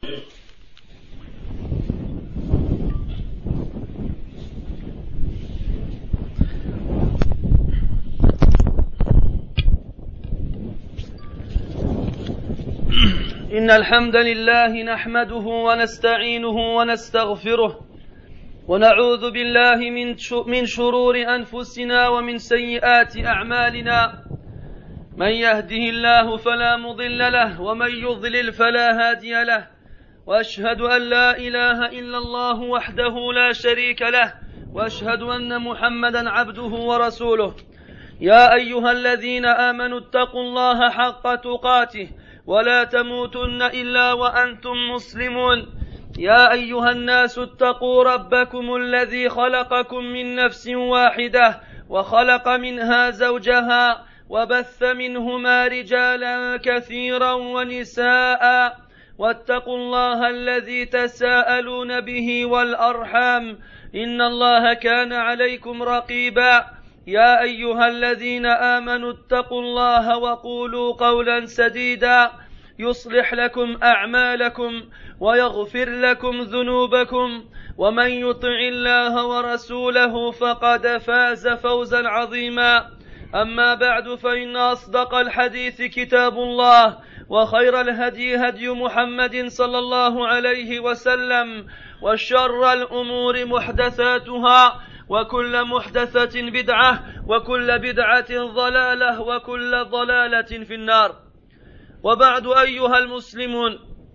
إن الحمد لله نحمده ونستعينه ونستغفره ونعوذ بالله من شرور أنفسنا ومن سيئات أعمالنا. من يهده الله فلا مضل له ومن يضلل فلا هادي له، وأشهد أن لا إله إلا الله وحده لا شريك له، وأشهد أن محمدا عبده ورسوله. يا أيها الذين آمنوا اتقوا الله حق تقاته ولا تموتن إلا وأنتم مسلمون. يا أيها الناس اتقوا ربكم الذي خلقكم من نفس واحدة وخلق منها زوجها وبث منهما رجالا كثيرا ونساء، واتقوا الله الذي تساءلون به والأرحام إن الله كان عليكم رقيبا. يا أيها الذين آمنوا اتقوا الله وقولوا قولا سديدا يصلح لكم أعمالكم ويغفر لكم ذنوبكم، ومن يطع الله ورسوله فقد فاز فوزا عظيما. أما بعد، فإن أصدق الحديث كتاب الله، وخير الهدي هدي محمد صلى الله عليه وسلم، وشر الأمور محدثاتها، وكل محدثة بدعة، وكل بدعة ضلالة، وكل ضلالة في النار. وبعد أيها المسلمون،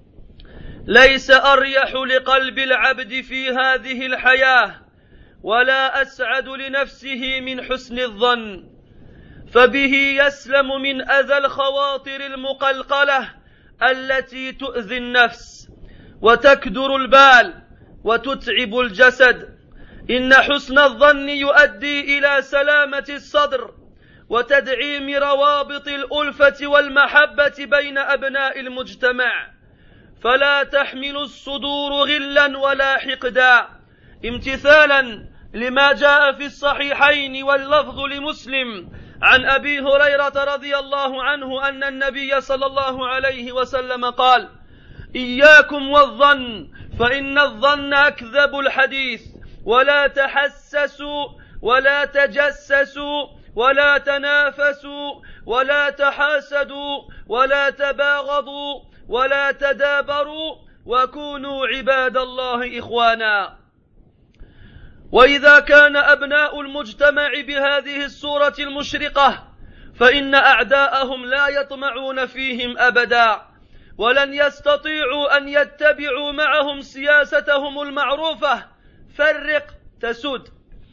ليس أريح لقلب العبد في هذه الحياة ولا أسعد لنفسه من حسن الظن، فبه يسلم من أذى الخواطر المقلقلة التي تؤذي النفس وتكدر البال وتتعب الجسد. إن حسن الظن يؤدي إلى سلامة الصدر وتدعيم روابط الألفة والمحبة بين أبناء المجتمع، فلا تحمل الصدور غلا ولا حقدا، امتثالا لما جاء في الصحيحين واللفظ لمسلم عن أبي هريرة رضي الله عنه أن النبي صلى الله عليه وسلم قال: إياكم والظن فإن الظن أكذب الحديث، ولا تحسسوا ولا تجسسوا ولا تنافسوا ولا تحاسدوا ولا تباغضوا ولا تدابروا، وكونوا عباد الله إخوانا. وإذا كان أبناء المجتمع بهذه الصورة المشرقة، فإن أعداءهم لا يطمعون فيهم أبدا، ولن يستطيعوا أن يتبعوا معهم سياستهم المعروفة: فرق تسود،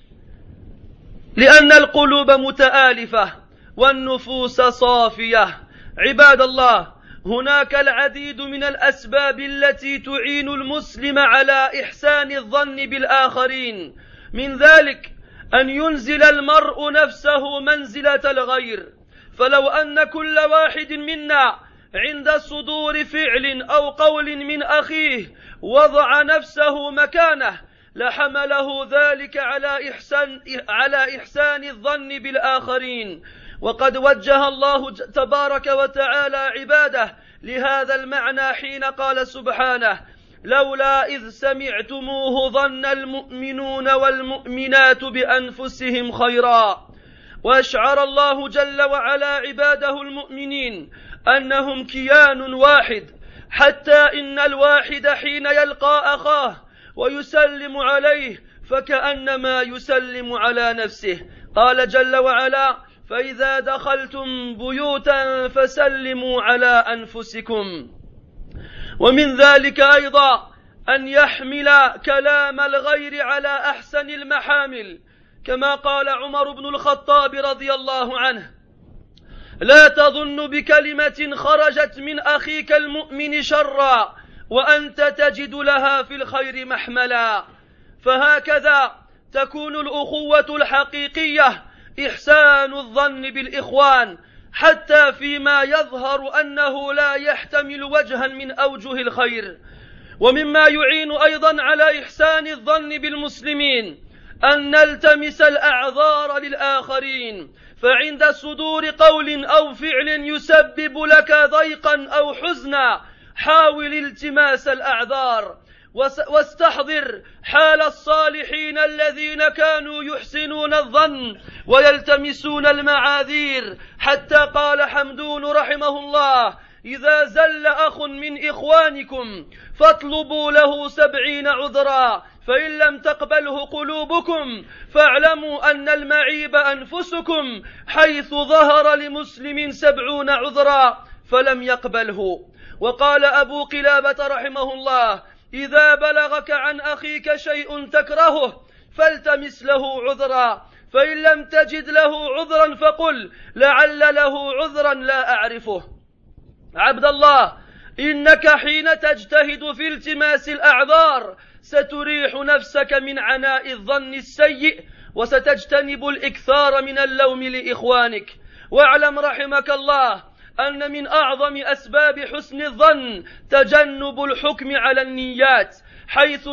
لأن القلوب متآلفة والنفوس صافية. عباد الله، هناك العديد من الأسباب التي تعين المسلم على إحسان الظن بالآخرين، من ذلك أن ينزل المرء نفسه منزلة الغير. فلو أن كل واحد منا عند صدور فعل أو قول من أخيه وضع نفسه مكانه لحمله ذلك على إحسان الظن بالآخرين. وقد وجه الله تبارك وتعالى عباده لهذا المعنى حين قال سبحانه: لولا إذ سمعتموه ظن المؤمنون والمؤمنات بأنفسهم خيرا. وأشعر الله جل وعلا عباده المؤمنين أنهم كيان واحد، حتى إن الواحد حين يلقى أخاه ويسلم عليه فكأنما يسلم على نفسه. قال جل وعلا: فإذا دخلتم بيوتا فسلموا على أنفسكم. ومن ذلك أيضا أن يحمل كلام الغير على أحسن المحامل، كما قال عمر بن الخطاب رضي الله عنه: لا تظن بكلمة خرجت من أخيك المؤمن شرا وأنت تجد لها في الخير محملا. فهكذا تكون الأخوة الحقيقية إحسان الظن بالإخوان، حتى فيما يظهر أنه لا يحتمل وجها من أوجه الخير. ومما يعين أيضا على إحسان الظن بالمسلمين أن نلتمس الأعذار للآخرين، فعند صدور قول أو فعل يسبب لك ضيقا أو حزنا حاول التماس الأعذار واستحضر حال الصالحين الذين كانوا يحسنون الظن ويلتمسون المعاذير، حتى قال حمدون رحمه الله: إذا زل أخ من إخوانكم فاطلبوا له 70 عذرا، فإن لم تقبله قلوبكم فاعلموا أن المعيب أنفسكم، حيث ظهر لمسلم 70 عذرا فلم يقبله. وقال أبو قلابة رحمه الله: إذا بلغك عن أخيك شيء تكرهه فالتمس له عذرا، فإن لم تجد له عذرا فقل لعل له عذرا لا أعرفه. عبد الله، إنك حين تجتهد في التماس الأعذار ستريح نفسك من عناء الظن السيء، وستجتنب الإكثار من اللوم لإخوانك. واعلم رحمك الله أن من أعظم أسباب حسن الظن تجنب الحكم على النيات، حيث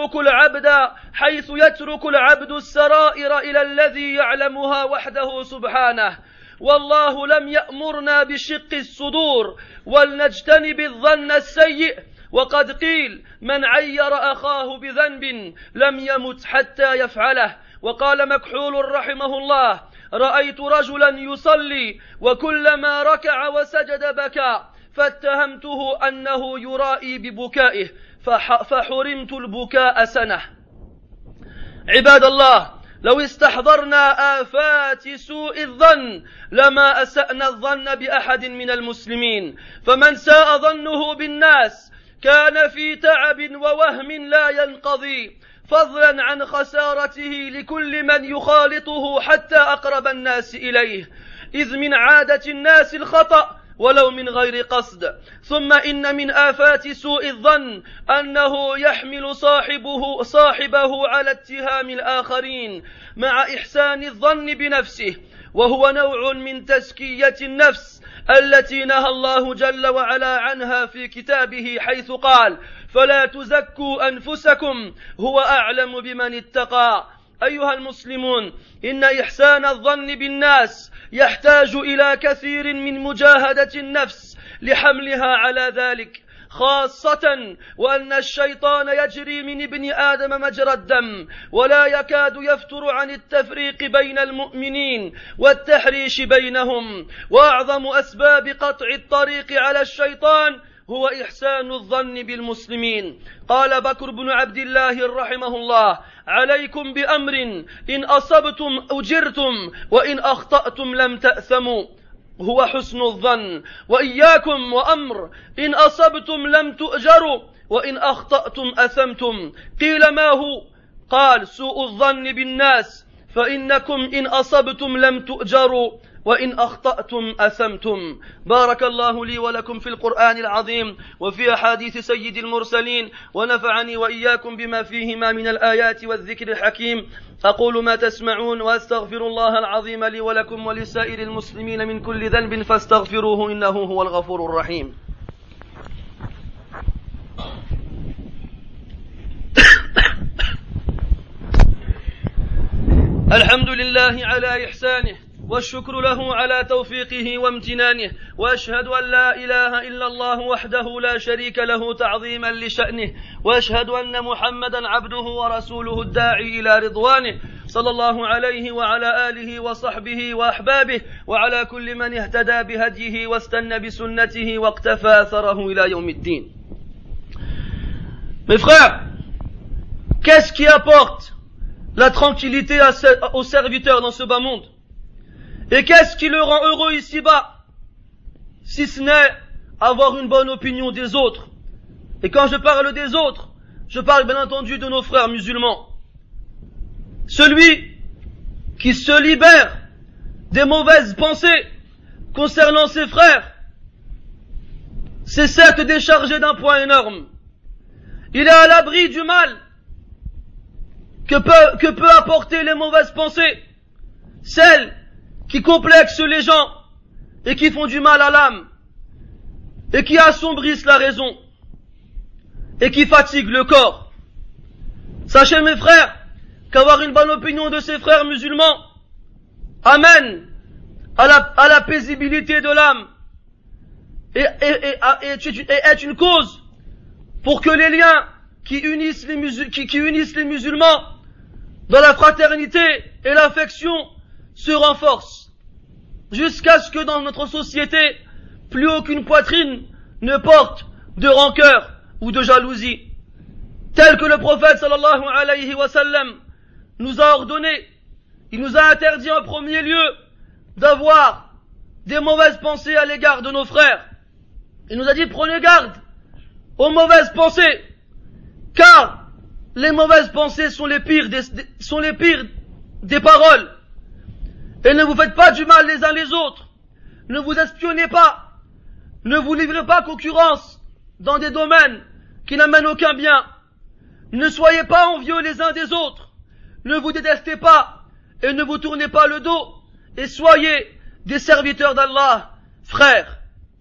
يترك العبد السرائر إلى الذي يعلمها وحده سبحانه. والله لم يأمرنا بشق الصدور، ولنجتنب الظن السيء. وقد قيل: من عير أخاه بذنب لم يمت حتى يفعله. وقال مكحول رحمه الله: رأيت رجلا يصلي وكلما ركع وسجد بكى، فاتهمته أنه يرائي ببكائه فحرمت البكاء سنة. عباد الله، لو استحضرنا آفات سوء الظن لما أسأنا الظن بأحد من المسلمين، فمن ساء ظنه بالناس كان في تعب ووهم لا ينقضي، فضلا عن خسارته لكل من يخالطه حتى أقرب الناس إليه، إذ من عادة الناس الخطأ ولو من غير قصد. ثم إن من آفات سوء الظن أنه يحمل صاحبه على اتهام الآخرين مع إحسان الظن بنفسه، وهو نوع من تزكية النفس التي نهى الله جل وعلا عنها في كتابه، حيث قال: فلا تزكوا أنفسكم هو أعلم بمن اتقى. أيها المسلمون، إن إحسان الظن بالناس يحتاج إلى كثير من مجاهدة النفس لحملها على ذلك، خاصة وأن الشيطان يجري من ابن آدم مجرى الدم، ولا يكاد يفتر عن التفريق بين المؤمنين والتحريش بينهم. وأعظم أسباب قطع الطريق على الشيطان هو إحسان الظن بالمسلمين. قال بكر بن عبد الله رحمه الله: عليكم بأمر إن أصبتم أجرتم وإن أخطأتم لم تأثموا، هو حسن الظن. وإياكم وأمر إن أصبتم لم تؤجروا وإن أخطأتم أثمتم. قيل: ما هو؟ قال: سوء الظن بالناس، فإنكم إن أصبتم لم تؤجروا وإن أخطأتم أثمتم. بارك الله لي ولكم في القرآن العظيم وفي أحاديث سيد المرسلين، ونفعني وإياكم بما فيهما من الآيات والذكر الحكيم. أقول ما تسمعون وأستغفر الله العظيم لي ولكم ولسائر المسلمين من كل ذنب فاستغفروه إنه هو الغفور الرحيم. الحمد لله على إحسانه، والشكر له على توفيقه وامتنانه، وأشهد أن لا إله إلا الله وحده لا شريك له تعظيما لشأنه، وأشهد أن محمدا عبده ورسوله الداعي إلى رضوانه، صلى الله عليه وعلى آله وصحبه وأحبابه وعلى كل من اهتدى بهديه واستنى بسنته واقتفى أثره إلى يوم الدين. Mes frères, qu'est-ce qui apporte la tranquillité aux serviteurs dans ce bas monde? Et qu'est-ce qui le rend heureux ici-bas, si ce n'est avoir une bonne opinion des autres? Et quand je parle des autres, je parle bien entendu de nos frères musulmans. Celui qui se libère des mauvaises pensées concernant ses frères, c'est certes déchargé d'un poids énorme. Il est à l'abri du mal que peut apporter les mauvaises pensées, celles qui complexent les gens et qui font du mal à l'âme et qui assombrissent la raison et qui fatiguent le corps. Sachez mes frères qu'avoir une bonne opinion de ses frères musulmans amène à la paisibilité de l'âme est une cause pour que les liens qui unissent les musulmans dans la fraternité et l'affection se renforcent, jusqu'à ce que dans notre société, plus aucune poitrine ne porte de rancœur ou de jalousie, tel que le prophète sallallahu alayhi wa sallam nous a ordonné. Il nous a interdit en premier lieu d'avoir des mauvaises pensées à l'égard de nos frères. Il nous a dit: prenez garde aux mauvaises pensées, car les mauvaises pensées sont les pires des paroles. Et ne vous faites pas du mal les uns les autres. Ne vous espionnez pas. Ne vous livrez pas concurrence dans des domaines qui n'amènent aucun bien. Ne soyez pas envieux les uns des autres. Ne vous détestez pas et ne vous tournez pas le dos. Et soyez des serviteurs d'Allah, frères.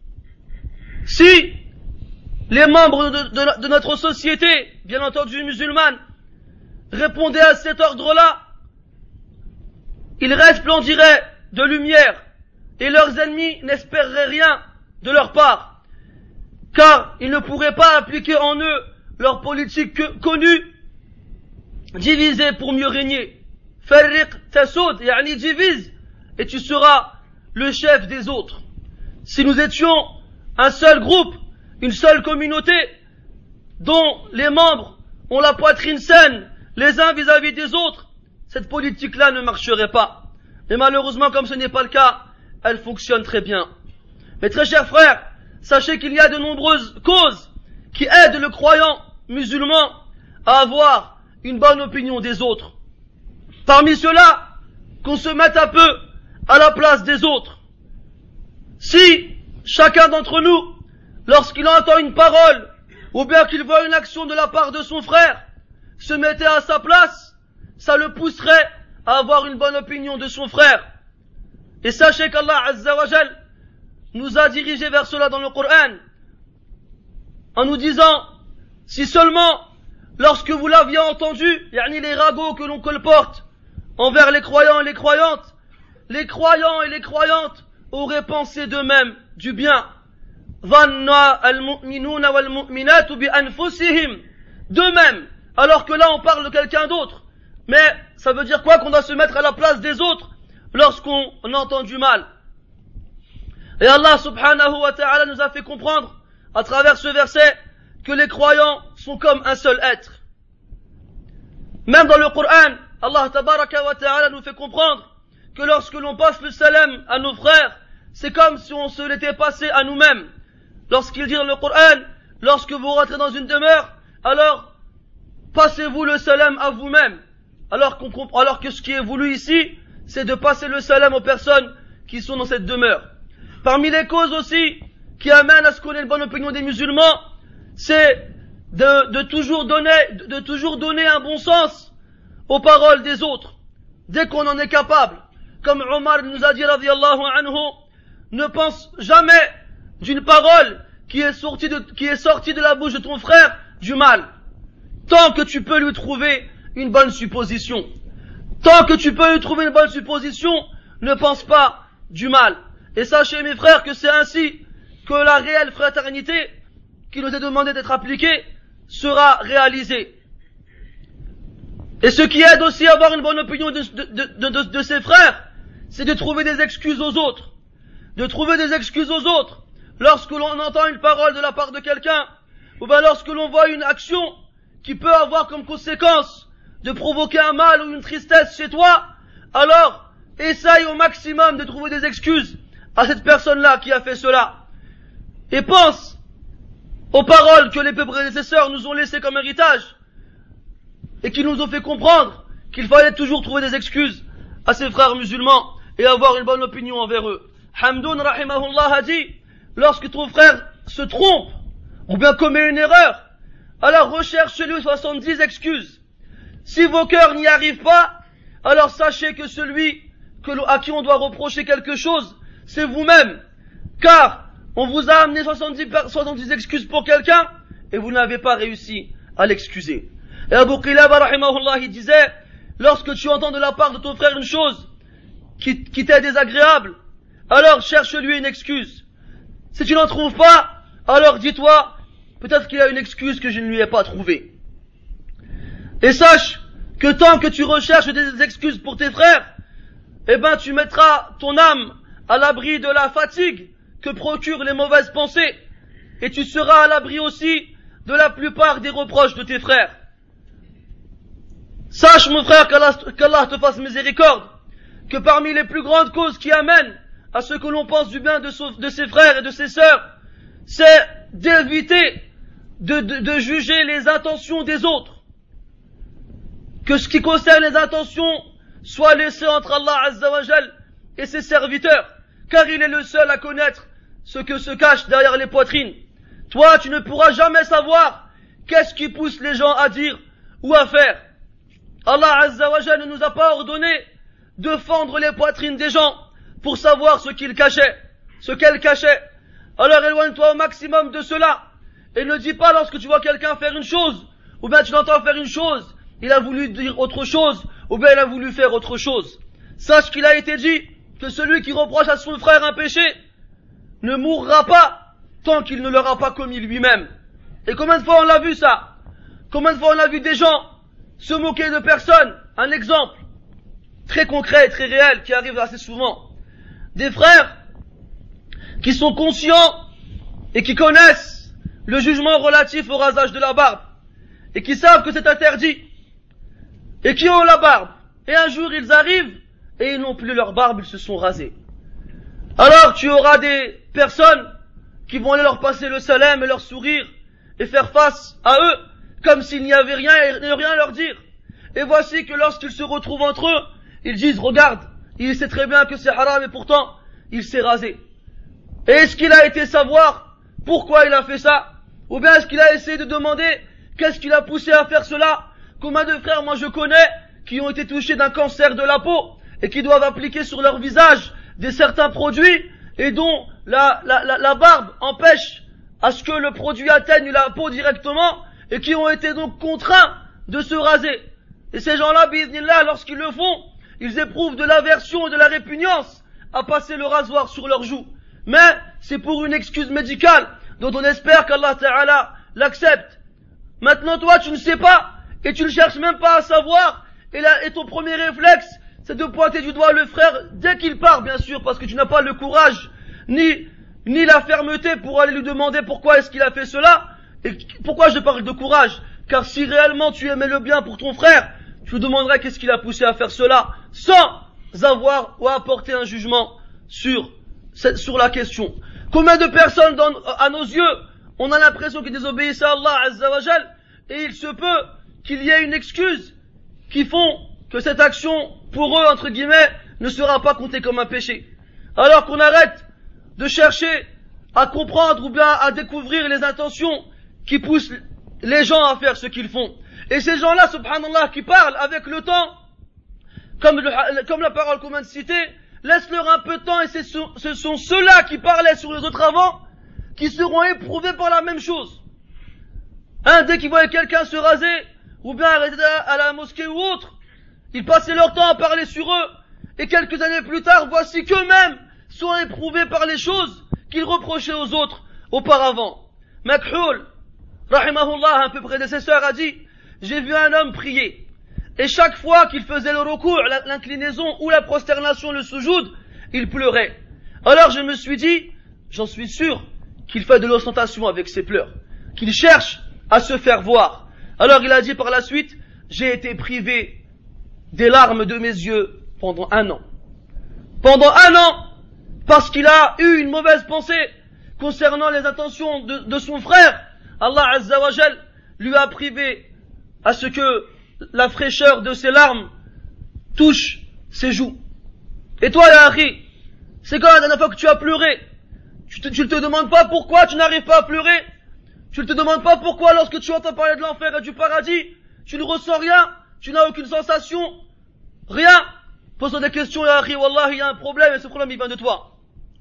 Si les membres de notre société, bien entendu musulmane, répondaient à cet ordre-là, ils resplendiraient de lumière et leurs ennemis n'espéreraient rien de leur part, car ils ne pourraient pas appliquer en eux leur politique connue, diviser pour mieux régner. Farriq tasoud, yani divise, et tu seras le chef des autres. Si nous étions un seul groupe, une seule communauté, dont les membres ont la poitrine saine les uns vis-à-vis des autres, cette politique-là ne marcherait pas. Mais malheureusement, comme ce n'est pas le cas, elle fonctionne très bien. Mes très chers frères, sachez qu'il y a de nombreuses causes qui aident le croyant musulman à avoir une bonne opinion des autres. Parmi ceux-là, qu'on se mette un peu à la place des autres. Si chacun d'entre nous, lorsqu'il entend une parole, ou bien qu'il voit une action de la part de son frère, se mettait à sa place, ça le pousserait à avoir une bonne opinion de son frère. Et sachez qu'Allah Azza wa Jal nous a dirigés vers cela dans le Coran, en nous disant: si seulement, lorsque vous l'aviez entendu, yani les ragots que l'on colporte envers les croyants et les croyantes, les croyants et les croyantes auraient pensé d'eux-mêmes du bien. D'eux-mêmes, alors que là on parle de quelqu'un d'autre. Mais ça veut dire quoi? Qu'on doit se mettre à la place des autres lorsqu'on entend du mal. Et Allah subhanahu wa ta'ala nous a fait comprendre à travers ce verset que les croyants sont comme un seul être. Même dans le Coran, Allah tabaraka wa ta'ala nous fait comprendre que lorsque l'on passe le salam à nos frères, c'est comme si on se l'était passé à nous-mêmes. Lorsqu'il dit dans le Coran: lorsque vous rentrez dans une demeure, alors passez-vous le salam à vous-même. Alors que ce qui est voulu ici, c'est de passer le salam aux personnes qui sont dans cette demeure. Parmi les causes aussi qui amènent à ce qu'on ait une bonne opinion des musulmans, c'est de toujours donner un bon sens aux paroles des autres, dès qu'on en est capable. Comme Omar nous a dit, radiyallahu anhu, ne pense jamais d'une parole qui est sortie de la bouche de ton frère du mal, tant que tu peux lui trouver une bonne supposition. Tant que tu peux lui trouver une bonne supposition, ne pense pas du mal. Et sachez, mes frères, que c'est ainsi que la réelle fraternité qui nous est demandée d'être appliquée sera réalisée. Et ce qui aide aussi à avoir une bonne opinion de ses frères, c'est de trouver des excuses aux autres. De trouver des excuses aux autres lorsque l'on entend une parole de la part de quelqu'un, ou bien lorsque l'on voit une action qui peut avoir comme conséquence de provoquer un mal ou une tristesse chez toi, alors essaye au maximum de trouver des excuses à cette personne-là qui a fait cela. Et pense aux paroles que les prédécesseurs nous ont laissées comme héritage et qui nous ont fait comprendre qu'il fallait toujours trouver des excuses à ses frères musulmans et avoir une bonne opinion envers eux. Hamdoun rahimahullah a dit: lorsque ton frère se trompe ou bien commet une erreur, alors recherchez-lui 70 excuses. Si vos cœurs n'y arrivent pas, alors sachez que celui à qui on doit reprocher quelque chose, c'est vous-même. Car on vous a amené 70 excuses pour quelqu'un et vous n'avez pas réussi à l'excuser. Et Abu Qilaba rahimahullah, il disait: lorsque tu entends de la part de ton frère une chose qui t'est désagréable, alors cherche-lui une excuse. Si tu n'en trouves pas, alors dis-toi, peut-être qu'il y a une excuse que je ne lui ai pas trouvée. Et sache que tant que tu recherches des excuses pour tes frères, eh ben tu mettras ton âme à l'abri de la fatigue que procurent les mauvaises pensées, et tu seras à l'abri aussi de la plupart des reproches de tes frères. Sache, mon frère, qu'Allah te fasse miséricorde, que parmi les plus grandes causes qui amènent à ce que l'on pense du bien de ses frères et de ses sœurs, c'est d'éviter de juger les intentions des autres. Que ce qui concerne les intentions soit laissé entre Allah Azza wa Jal et ses serviteurs, car il est le seul à connaître ce que se cache derrière les poitrines. Toi, tu ne pourras jamais savoir qu'est-ce qui pousse les gens à dire ou à faire. Allah Azza wa Jal ne nous a pas ordonné de fendre les poitrines des gens pour savoir ce qu'elles cachaient. Alors éloigne-toi au maximum de cela, et ne dis pas lorsque tu vois quelqu'un faire une chose, ou bien tu l'entends faire une chose, il a voulu dire autre chose, ou bien il a voulu faire autre chose. Sache qu'il a été dit que celui qui reproche à son frère un péché ne mourra pas tant qu'il ne l'aura pas commis lui-même. Et combien de fois on l'a vu ça? Combien de fois on a vu des gens se moquer de personnes? Un exemple très concret et très réel qui arrive assez souvent. Des frères qui sont conscients et qui connaissent le jugement relatif au rasage de la barbe et qui savent que c'est interdit et qui ont la barbe, et un jour ils arrivent et ils n'ont plus leur barbe, ils se sont rasés. Alors tu auras des personnes qui vont aller leur passer le salam et leur sourire et faire face à eux comme s'il n'y avait rien et ne rien leur dire. Et voici que lorsqu'ils se retrouvent entre eux, ils disent: regarde, il sait très bien que c'est haram et pourtant il s'est rasé. Et est-ce qu'il a été savoir pourquoi il a fait ça? Ou bien est-ce qu'il a essayé de demander qu'est-ce qui l'a poussé à faire cela? Combien de frères moi je connais qui ont été touchés d'un cancer de la peau et qui doivent appliquer sur leur visage des certains produits et dont la barbe empêche à ce que le produit atteigne la peau directement et qui ont été donc contraints de se raser. Et ces gens-là, bi'idhnillah, lorsqu'ils le font, ils éprouvent de l'aversion et de la répugnance à passer le rasoir sur leurs joues. Mais c'est pour une excuse médicale dont on espère qu'Allah Ta'ala l'accepte. Maintenant toi tu ne sais pas et tu ne cherches même pas à savoir et ton premier réflexe c'est de pointer du doigt le frère dès qu'il part, bien sûr, parce que tu n'as pas le courage ni la fermeté pour aller lui demander pourquoi est-ce qu'il a fait cela. Et pourquoi je parle de courage? Car si réellement tu aimais le bien pour ton frère, tu lui demanderais qu'est-ce qui l'a poussé à faire cela sans avoir ou apporter un jugement sur la question. Combien de personnes à nos yeux on a l'impression qu'ils désobéissent à Allah Azza wa Jal, et il se peut qu'il y ait une excuse qui font que cette action pour eux entre guillemets ne sera pas comptée comme un péché. Alors qu'on arrête de chercher à comprendre ou bien à découvrir les intentions qui poussent les gens à faire ce qu'ils font. Et ces gens-là, subhanallah, qui parlent avec le temps, comme la parole qu'on vient de citer, laisse-leur un peu de temps, et ce sont ceux-là qui parlaient sur les autres avant qui seront éprouvés par la même chose. Dès qu'ils voyaient quelqu'un se raser ou bien arrêter à la mosquée ou autre, ils passaient leur temps à parler sur eux, et quelques années plus tard, voici qu'eux-mêmes sont éprouvés par les choses qu'ils reprochaient aux autres auparavant. Makhul, rahimahullah, un peu prédécesseur, a dit: j'ai vu un homme prier, et chaque fois qu'il faisait le recours, l'inclinaison ou la prosternation, le soujoud, il pleurait. Alors je me suis dit, j'en suis sûr qu'il fait de l'ostentation avec ses pleurs, qu'il cherche à se faire voir. Alors il a dit par la suite: j'ai été privé des larmes de mes yeux pendant 1 an. Pendant 1 an, parce qu'il a eu une mauvaise pensée concernant les intentions de son frère, Allah Azza wa Jal lui a privé à ce que la fraîcheur de ses larmes touche ses joues. Et toi, ya akhi, c'est quand la dernière fois que tu as pleuré? Tu ne te demandes pas pourquoi tu n'arrives pas à pleurer? Tu ne te demandes pas pourquoi lorsque tu entends parler de l'enfer et du paradis, tu ne ressens rien? Tu n'as aucune sensation? Rien? Pose-toi des questions, ya akhi, wallah, il y a un problème et ce problème il vient de toi.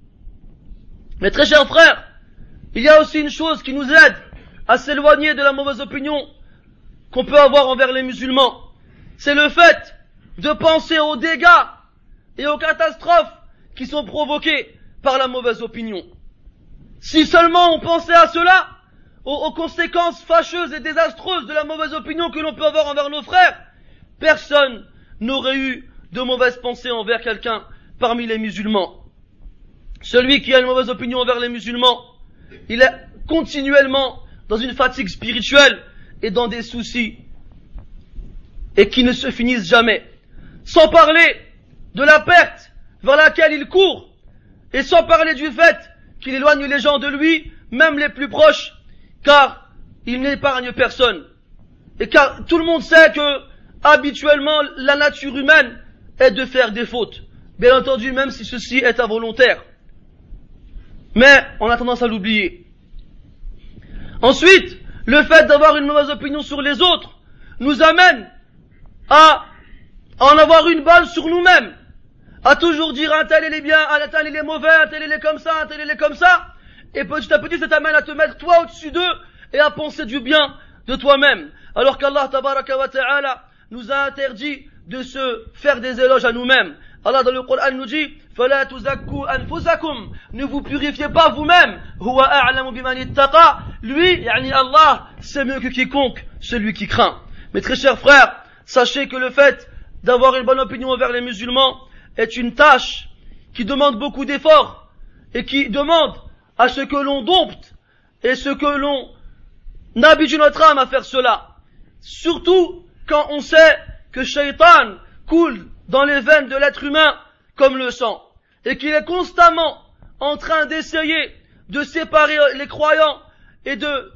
Mais très chers frères, il y a aussi une chose qui nous aide à s'éloigner de la mauvaise opinion qu'on peut avoir envers les musulmans. C'est le fait de penser aux dégâts et aux catastrophes qui sont provoquées par la mauvaise opinion. Si seulement on pensait à cela, aux conséquences fâcheuses et désastreuses de la mauvaise opinion que l'on peut avoir envers nos frères, personne n'aurait eu de mauvaise pensée envers quelqu'un parmi les musulmans. Celui qui a une mauvaise opinion envers les musulmans, il est continuellement dans une fatigue spirituelle et dans des soucis, et qui ne se finissent jamais. Sans parler de la perte vers laquelle il court, et sans parler du fait qu'il éloigne les gens de lui, même les plus proches, car il n'épargne personne. Et car tout le monde sait que, habituellement, la nature humaine est de faire des fautes. Bien entendu, même si ceci est involontaire. Mais on a tendance à l'oublier. Ensuite, le fait d'avoir une mauvaise opinion sur les autres nous amène à en avoir une balle sur nous-mêmes, à toujours dire un tel il est bien, un tel il est mauvais, un tel il est comme ça, un tel il est comme ça, et petit à petit ça t'amène à te mettre toi au-dessus d'eux et à penser du bien de toi-même, alors qu'Allah tabaraka wa ta'ala nous a interdit de se faire des éloges à nous-mêmes. Allah dans le Coran nous dit فَلَا تُزَكُّوا أَنفُسَكُمْ, ne vous purifiez pas vous-même, هُوَ أَعْلَمُ بِمَنِ اتَّقَى, lui, yani Allah, c'est mieux que quiconque, celui qui craint. Mes très chers frères, sachez que le fait d'avoir une bonne opinion envers les musulmans est une tâche qui demande beaucoup d'efforts et qui demande à ce que l'on dompte et ce que l'on habitue notre âme à faire cela. Surtout quand on sait que Shaitan coule dans les veines de l'être humain comme le sang et qu'il est constamment en train d'essayer de séparer les croyants et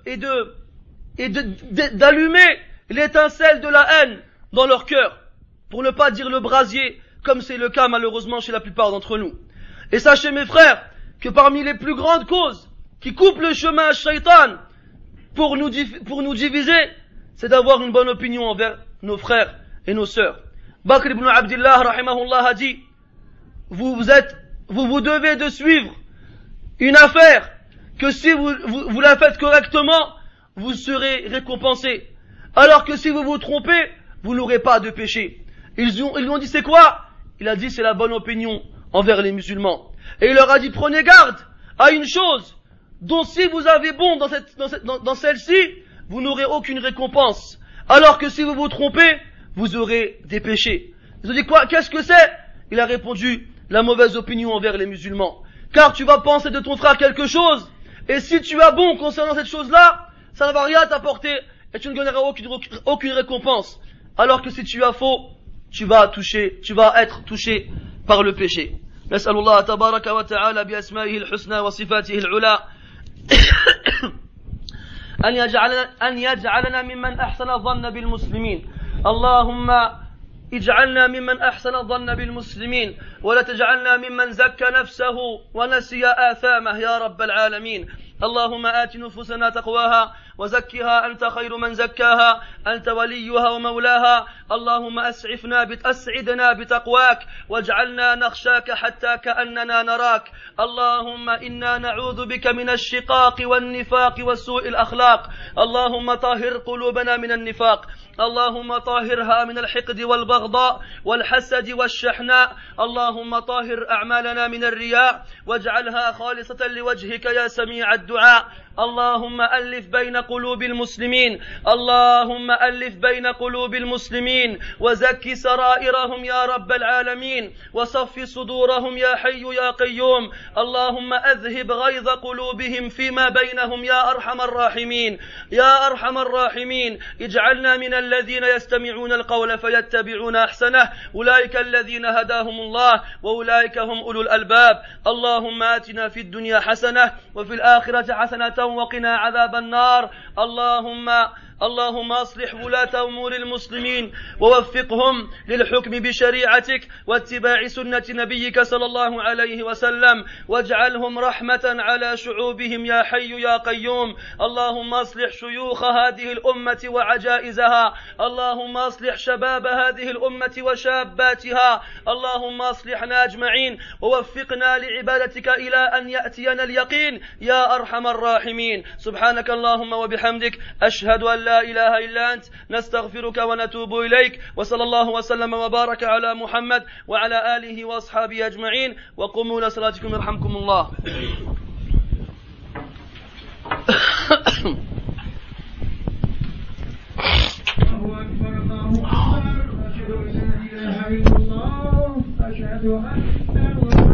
d'allumer l'étincelle de la haine dans leur cœur, pour ne pas dire le brasier, comme c'est le cas malheureusement chez la plupart d'entre nous. Et sachez mes frères, que parmi les plus grandes causes qui coupent le chemin à Shaitan pour nous diviser, c'est d'avoir une bonne opinion envers nos frères et nos sœurs. Bakr ibn Abdillah rahimahullah a dit, vous devez de suivre une affaire que si vous la faites correctement, vous serez récompensé. Alors que si vous vous trompez, vous n'aurez pas de péché. Ils lui ont dit c'est quoi? Il a dit c'est la bonne opinion envers les musulmans. Et il leur a dit prenez garde à une chose dont si vous avez bon dans celle-ci, vous n'aurez aucune récompense. Alors que si vous vous trompez, vous aurez des péchés. Ils ont dit quoi? Qu'est-ce que c'est? Il a répondu la mauvaise opinion envers les musulmans. Car tu vas penser de ton frère quelque chose, et si tu as bon concernant cette chose-là, ça ne va rien t'apporter, et tu ne gagneras aucune récompense. Alors que si tu as faux, tu vas être touché par le péché. نسأل الله تبارك وتعالى بأسمائه الحسنى وصفاته العلى أن يجعلنا ممن أحسن الظن بالمسلمين. اللهم اجعلنا ممن أحسن الظن بالمسلمين ولا تجعلنا ممن زكى نفسه ونسي آثامه يا رب العالمين. اللهم آت نفوسنا تقواها وزكها أنت خير من زكاها أنت وليها ومولاها. اللهم أسعدنا بتقواك واجعلنا نخشاك حتى كأننا نراك. اللهم إنا نعوذ بك من الشقاق والنفاق وسوء الأخلاق. اللهم طهر قلوبنا من النفاق. اللهم طهرها من الحقد والبغضاء والحسد والشحناء. اللهم طهر أعمالنا من الرياء واجعلها خالصة لوجهك يا سميع الدعاء. اللهم ألف بين قلوب المسلمين. اللهم ألف بين قلوب المسلمين وزكي سرائرهم يا رب العالمين وصف صدورهم يا حي يا قيوم. اللهم أذهب غيظ قلوبهم فيما بينهم يا أرحم الراحمين يا أرحم الراحمين. اجعلنا من الذين يستمعون القول فيتبعون أحسنه. أولئك الذين هداهم الله وأولئك هم أولو الألباب. اللهم آتنا في الدنيا حسنة وفي الآخرة حسنة وقنا عذاب النار. اللهم أصلح ولاة أمور المسلمين ووفقهم للحكم بشريعتك واتباع سنة نبيك صلى الله عليه وسلم واجعلهم رحمة على شعوبهم يا حي يا قيوم. اللهم أصلح شيوخ هذه الأمة وعجائزها. اللهم أصلح شباب هذه الأمة وشاباتها. اللهم أصلحنا أجمعين ووفقنا لعبادتك إلى أن يأتينا اليقين يا أرحم الراحمين. سبحانك اللهم وبحمدك أشهد أن لا إله إلا أنت نستغفرك ونتوب إليك. وصلى الله وسلم وبارك على محمد وعلى آله وأصحابه أجمعين. وقوموا إلى صلاتكم يرحمكم الله. أشهد أن